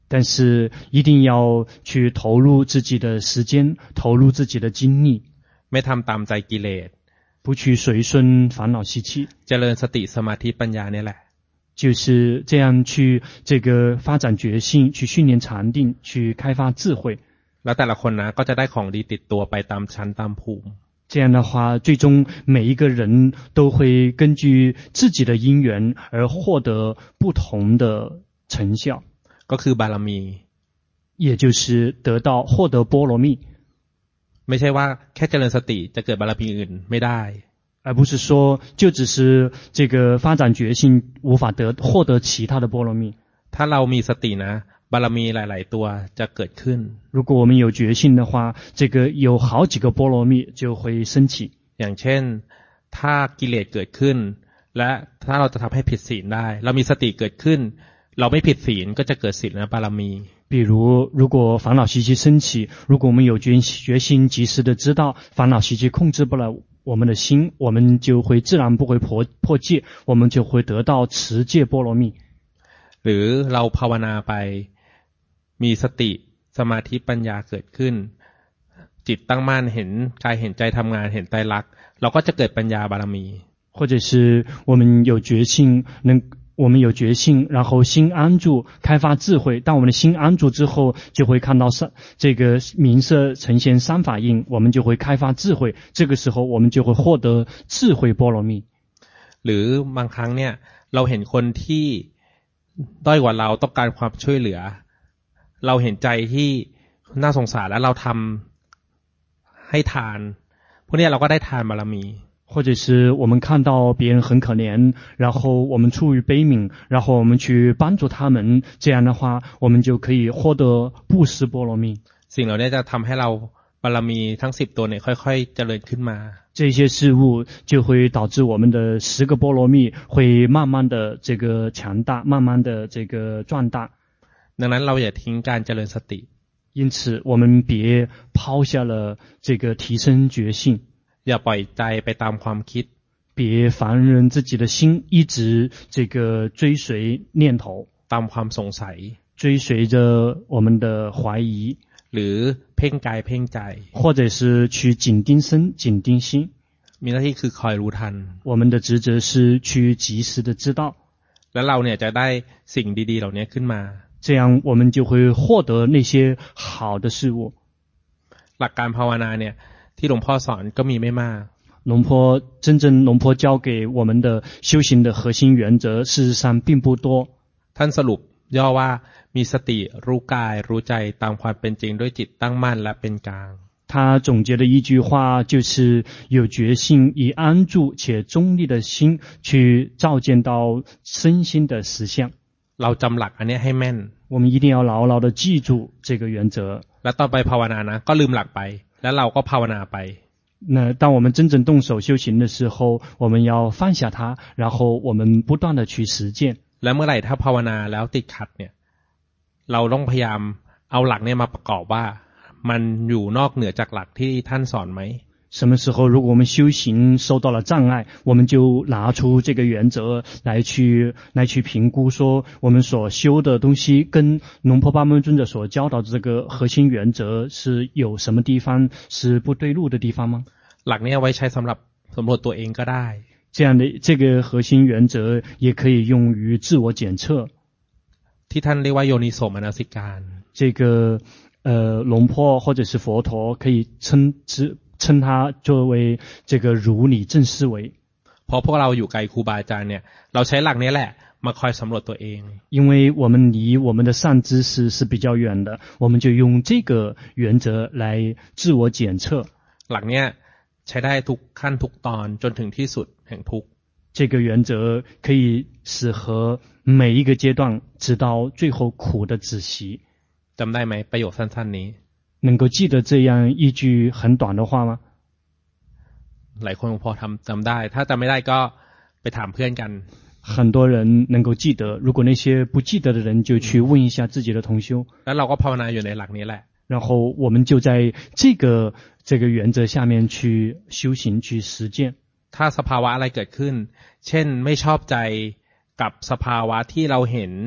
但是一定要去投入自己的時間，投入自己的精力， ไม่ทำตามใจกิเลส不去隨順煩惱習氣， เจริญสติสมาธิปัญญาเนี่ยแหละ就是這樣去這個發展覺性，去訓練禪定，去開發智慧。 แล้วแต่ละคนนะก็จะได้ของดีติดตัวไปตามชั้นตามภูมิ這樣的話，最終每一個人都會根據自己的因緣而獲得不同的成效， ก็คือบารมี也就是獲得波羅蜜。 ไม่ใช่ว่าแค่เจริญสติจะเกิดบารมีอื่นไม่ได้而不是說就只是這個發展覺性無法獲得其他的波羅蜜。 ถ้าเรามีสตินะบารมีหลายๆตัวจะเกิดขึ้น如果我們有覺性的話，這個有好幾個波羅蜜就會升起。 อย่างเช่นถ้ากิเลสเกิดขึ้นและถ้าเราจะทำให้ผิดศีลได้เรามีสติเกิดขึ้นเราไม่ผิดศีลก็จะเกิดศีลบารมี比如果煩惱習氣升起，如果我們有覺性及時的知道煩惱習氣控制不了我們的心，我們就會自然不會破戒，我們就會得到持戒波羅蜜。 หรือเราภาวนาไปมีสติสมาธิปัญญาเกิดขึ้นจิตตั้งมั่นเห็นกายเห็นใจทำงานเห็นไตรลักษณ์เราก็จะเกิดปัญญาบารมี或者是我們有覺性，然後心安住，開發智慧。當我們的心安住之後，就會看到這個明色呈現三法印，我們就會開發智慧。這個時候，我們就會獲得智慧波羅蜜。 หรือบางครั้งเนี่ยเราเห็นคนที่ด้อยกว่าเราต้องการความช่วยเหลือเราเห็นใจที่น่าสงสารแล้วเราทำให้ทานพวกนี้เราก็ได้ทานบารมี或者是我們看到別人很可憐，然後我們出於悲憫，然後我們去幫助他們，這樣的話我們就可以獲得布施波羅蜜。 สิ่งเหล่านี้จะทำให้เราบารมีทั้ง10ตัวเนี่ยค่อยๆเจริญขึ้นมา這些事物就會導致我們的10個波羅蜜會慢慢的這個強大，慢慢的這個壯大。 ดังนั้นเราอย่าทิ้งการเจริญสติ因此我們別拋下了這個提升覺性， อย่าปล่อยใจไปตามความคิด別放任自己的心一直這個追隨念頭， ตามความสงสัย追隨着我們的懷疑， หรือเพ่งกายเพ่งใจ或者是去緊盯身緊盯心。 มีหน้าที่คือคอยรู้ทัน我們的職責是去及時的知道， แล้วเราเนี่ยจะได้สิ่งดีๆเหล่านี้ขึ้นมา這樣我們就會獲得那些好的事物。 หลักการภาวนาเนี่ยที่หลวงพ่อสอนก็มีไม่มาก真正龍婆教給我們的修行的核心原則事實上並不多。 ท่านสรุปย่อว่ามีสติรู้กายรู้ใจตามความเป็นจริงด้วยจิตตั้งมั่นและเป็นกลาง他總結的一句話就是有覺性以安住且中立的心去照見到身心的實相。 เราจำหลักอันนี้ให้แม่น我們一定要牢牢地記住這個原則。 แล้วต่อไปภาวนานะก็ลืมหลักไปแล้วเราก็ภาวนาไป那當我們真正動手修行的時候，我們要放下它，然後我們不斷地去實踐。 แล้วเมื่อไหร่ถ้าภาวนาแล้วติดขัดเนี่ยเราต้องพยายามเอาหลักเนี่ยมาประกอบว่ามันอยู่นอกเหนือจากหลักที่ท่านสอนไหม什麼時候如果我們修行受到了障礙，我們就拿出這個原則來去評估，說我們所修的東西跟龍婆巴門尊者所教導的這個核心原則是有什麼地方是不對路的地方嗎？ หลักนี้เอาไว้ใช้สำหรับสำรวจตัวเองก็ได้這樣的這個核心原則也可以用於自我檢測。 ที่ท่านเรียกว่าโยนิโสมนสิการ這個龍婆或者是佛陀可以稱它作為這個如理正思維。 พอพวกเราอยู่ไกลครูบาอาจารย์เนี่ยเราใช้หลักนี้แหละมาคอยสำรวจตัวเอง因為我們離我們的善知識是比較遠的，我們就用這個原則來自我檢測。 หลักนี้ใช้ได้ทุกขั้นทุกตอนจนถึงที่สุดแห่งทุกข์這個原則可以適合每一個階段，直到最後苦的止息。 จำได้ไหมประโยคสั้นๆนี้能夠記得這樣一句很短的話嗎？ หลายคนพอจำได้ถ้าจำไม่ได้ก็ไปถามเพื่อนกัน很多人能夠記得，如果那些不記得的人就去問一下自己的同修。 แล้วเราก็ภาวนาอยู่ในหลักนี้แหละ然後我們就在這個原則下面去修行去實踐。 ถ้าสภาวะอะไรเกิดขึ้นเช่นไม่ชอบใจกับสภาวะที่เราเห็น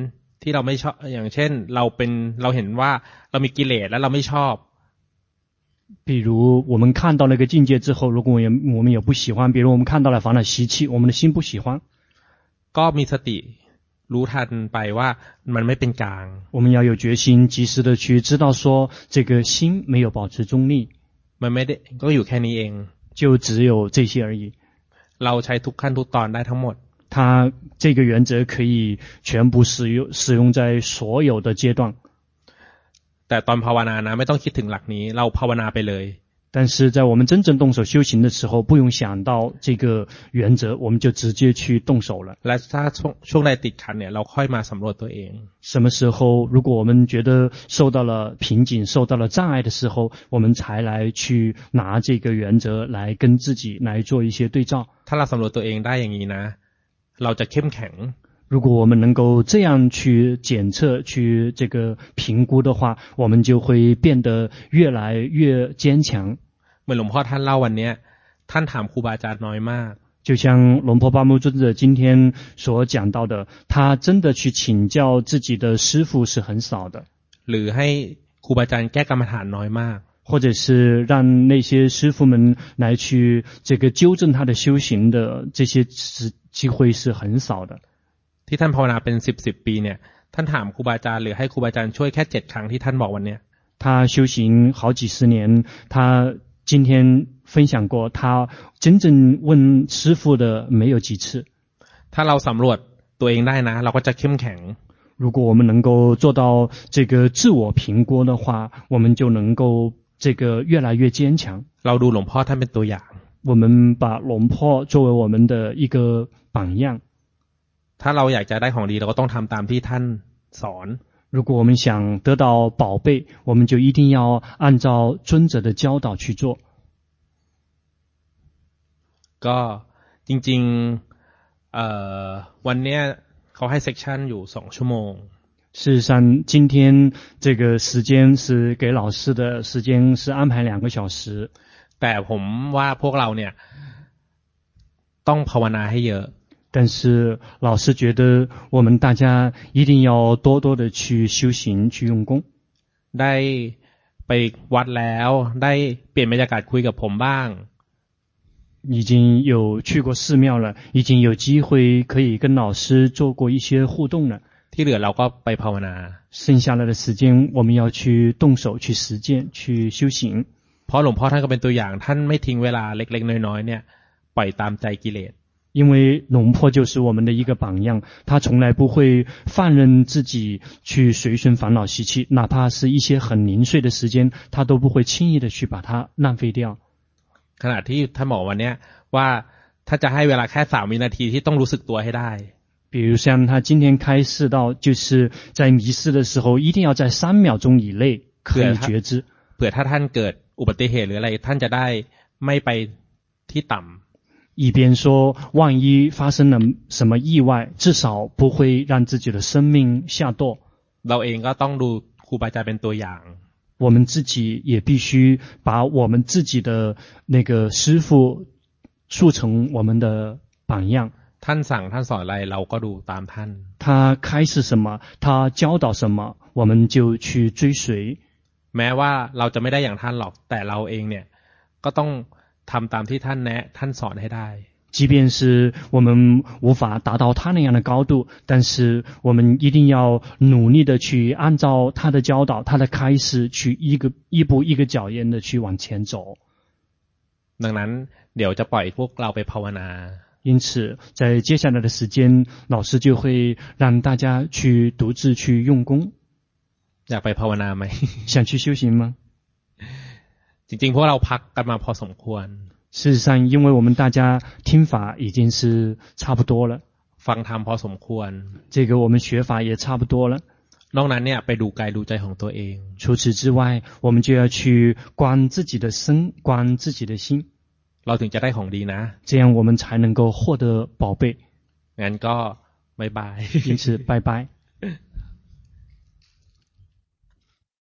ที่เราไม่ชอบอย่างเช่นเราเห็นว่าเรามีกิเลสแล้วเราไม่ชอบ比如我们看到那個境界之後，如果我們也不喜歡，比如我們看到了煩惱習氣，我們的心不喜歡， ก็มีสติรู้ทันไปว่ามันไม่เป็นกลาง我們要有決心，及時的去知道說這個心沒有保持中立， มันไม่ได้ก็อยู่แค่นี้เอง就只有這些而已。 เราใช้ทุกขั้นทุกตอนได้ทั้งหมด它這個原則可以全部使用在所有的階段。 แต่ตอนภาวนานะไม่ต้องคิดถึงหลักนี้เราภาวนาไปเลย但是在我們真正動手修行的時候，不用想到這個原則，我們就直接去動手了。 และถ้าช่วงใดติดขัดเนี่ยเราค่อยมาสำรวจตัวเอง什麼時候如果我們覺得受到了瓶頸，受到了障礙的時候，我們才來去拿這個原則來跟自己來做一些對照。 ถ้าเราสำรวจตัวเองได้อย่างนี้นะเราจะเข้มแข็ง如果我們能夠這樣去檢測去這個評估的話，我們就會變得越來越堅強。 เหมือนหลวงพ่อท่านเล่าวันนี้ท่านถามครูบาอาจารย์น้อยมาก就像龍婆巴木尊者今天所講到的，他真的去請教自己的師父是很少的， หรือให้ครูบาอาจารย์แก้กรรมฐานน้อยมาก或者是讓那些師父們來去這個糾正他的修行的這些機會是很少的。 ที่ท่านภาวนาเป็น10ปีเนี่ยท่านถามครูบาอาจารย์หรือให้ครูบาอาจารย์ช่วยแค่7ครั้งที่ท่านบอกวันนี้他修行好幾十年，他今天分享過，他真正問師父的沒有幾次。 ถ้าเราสำรวจตัวเองได้นะเราก็จะเข้มแข็ง如果我們能夠做到這個自我評估的話，我們就能夠這個越來越堅強。 เราดูหลวงพ่อท่านเป็นตัวอย่าง我們把龍婆作為我們的一個榜樣。 ถ้าเราอยากจะได้ของดีเราก็ต้องทำตามที่ท่านสอน如果我們想得到寶貝，我們就一定要按照尊者的教導去做。 ก็จริงๆวันนี้เขาให้เซกชันอยู่2ชั่วโมง事實上今天這個時間是給老師的時間是安排2個小時， แต่ผมว่าพวกเราเนี่ยต้องภาวนาให้เยอะ但是老師覺得我們大家一定要多多的去修行去用功。 ได้ไปวัดแล้วได้เปลี่ยนบรรยากาศคุยกับผมบ้าง已經有去過寺廟了，已經有機會可以跟老師做過一些互動了。 ที่เหลือเราก็ไปภาวนา剩下來的時間我們要去動手去實踐去修行。 เพราะหลวงพ่อท่านก็เป็นตัวอย่างท่านไม่ทิ้งเวลาเล็กๆน้อยๆเนี่ยปล่อยตามใจกิเลส因為龍婆就是我們的一個榜樣，他從來不會放任自己去隨順煩惱習氣，哪怕是一些很零碎的時間，他都不會輕易的去把它浪費掉。 ขณะที่ท่านบอกวันนี้ว่าถ้าจะให้เวลาแค่3วินาทีที่ต้องรู้สึกตัวให้ได้比如像他今天開示到，就是在迷失的時候，一定要在3秒鐘以內可以覺知。 เผื่อถ้าท่านเกิดอุบัติเหตุหรืออะไรท่านจะได้ไม่ไปที่ต่ำ以便說萬一發生了什麼意外，至少不會讓自己的生命下墮。 เราเองก็ต้องดูครูบาอาจารย์เป็นตัวอย่าง我們自己也必須把我們自己的那個師父塑成我們的榜樣。 ท่านสั่งท่านสอนอะไรเราก็ดูตามท่าน他開示什麼，他教導什麼，我們就去追隨。 แม้ว่าเราจะไม่ได้อย่างท่านหรอกแต่เราเองเนี่ยก็ต้องทำตามที่ท่านแนะท่านสอนให้ได้即便是我們無法達到他那樣的高度，但是我們一定要努力的去按照他的教導，他的開示，去一步一個腳印的去往前走。 ดังนั้นเดี๋ยวจะปล่อยพวกเราไปภาวนา因此在接下來的時間，老師就會讓大家去獨自去用功。 อยากไปภาวนาไหม想去修行嗎จริงๆพวกเราพักกันมาพอสมควร事實上因為我們大家聽法已經是差不多了ฟังธรรมพอสมควร這個我們學法也差不多了นอกนั้นเนี่ยไปดูกายดูใจของตัวเอง除此之外我們就要去觀自己的身觀自己的心เราถึงจะได้ของดีนะ這樣我們才能夠獲得寶貝งั้นก็บ๊ายบาย因此拜拜